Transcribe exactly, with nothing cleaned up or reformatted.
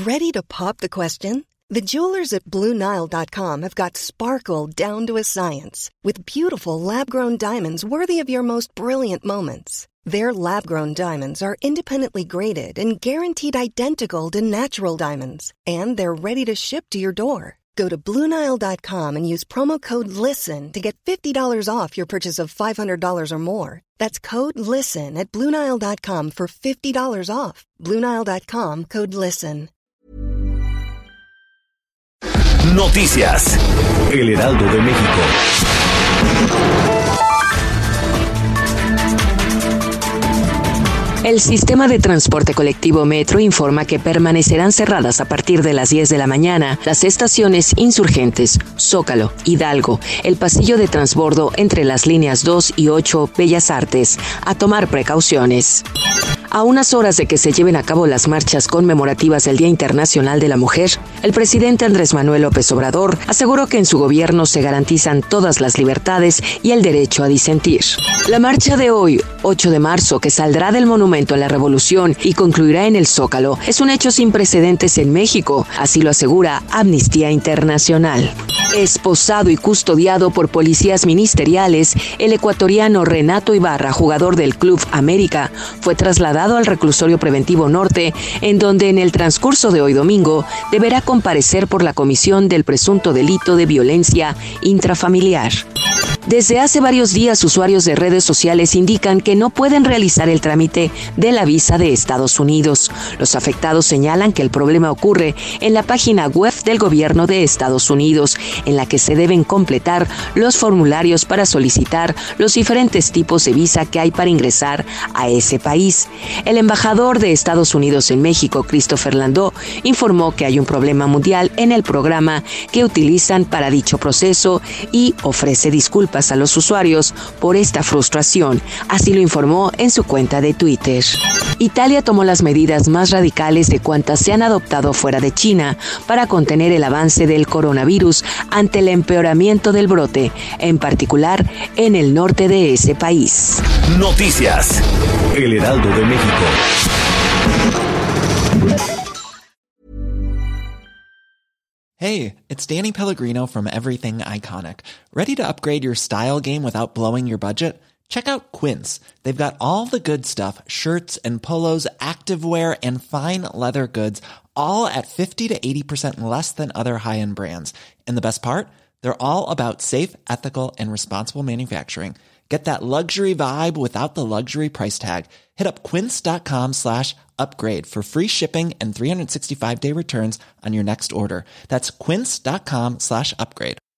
Ready to pop the question? The jewelers at Blue Nile dot com have got sparkle down to a science with beautiful lab-grown diamonds worthy of your most brilliant moments. Their lab-grown diamonds are independently graded and guaranteed identical to natural diamonds, and they're ready to ship to your door. Go to Blue Nile dot com and use promo code LISTEN to get fifty dollars off your purchase of five hundred dollars or more. That's code LISTEN at Blue Nile dot com for fifty dollars off. Blue Nile dot com, code LISTEN. Noticias. El Heraldo de México. El sistema de transporte colectivo Metro informa que permanecerán cerradas a partir de las diez de la mañana las estaciones Insurgentes, Zócalo, Hidalgo, el pasillo de transbordo entre las líneas dos y ocho, Bellas Artes, a tomar precauciones. A unas horas de que se lleven a cabo las marchas conmemorativas del Día Internacional de la Mujer, el presidente Andrés Manuel López Obrador aseguró que en su gobierno se garantizan todas las libertades y el derecho a disentir. La marcha de hoy, ocho de marzo, que saldrá del Monumento a la Revolución y concluirá en el Zócalo, es un hecho sin precedentes en México, así lo asegura Amnistía Internacional. Esposado y custodiado por policías ministeriales, el ecuatoriano Renato Ibarra, jugador del Club América, fue trasladado al reclusorio preventivo norte, en donde en el transcurso de hoy domingo deberá comparecer por la comisión del presunto delito de violencia intrafamiliar. Desde hace varios días, usuarios de redes sociales indican que no pueden realizar el trámite de la visa de Estados Unidos. Los afectados señalan que el problema ocurre en la página web del gobierno de Estados Unidos, en la que se deben completar los formularios para solicitar los diferentes tipos de visa que hay para ingresar a ese país. El embajador de Estados Unidos en México, Christopher Landau, informó que hay un problema mundial en el programa que utilizan para dicho proceso y ofrece disculpas a los usuarios por esta frustración, así lo informó en su cuenta de Twitter. Italia tomó las medidas más radicales de cuantas se han adoptado fuera de China para contener el avance del coronavirus ante el empeoramiento del brote, en particular en el norte de ese país. Noticias. El Heraldo de México. Hey, it's Danny Pellegrino from Everything Iconic. Ready to upgrade your style game without blowing your budget? Check out Quince. They've got all the good stuff, shirts and polos, activewear, and fine leather goods, all at fifty to eighty percent less than other high-end brands. And the best part? They're all about safe, ethical, and responsible manufacturing. Get that luxury vibe without the luxury price tag. Hit up quince.com slash upgrade for free shipping and three sixty-five day returns on your next order. That's quince.com slash upgrade.